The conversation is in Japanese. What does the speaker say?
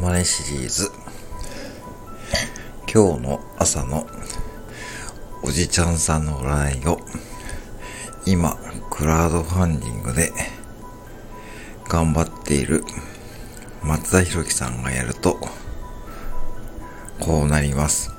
マネシリーズ。今日の朝のおじちゃんさんの占いを今クラウドファンディングで頑張っている松田博樹さんがやるとこうなります。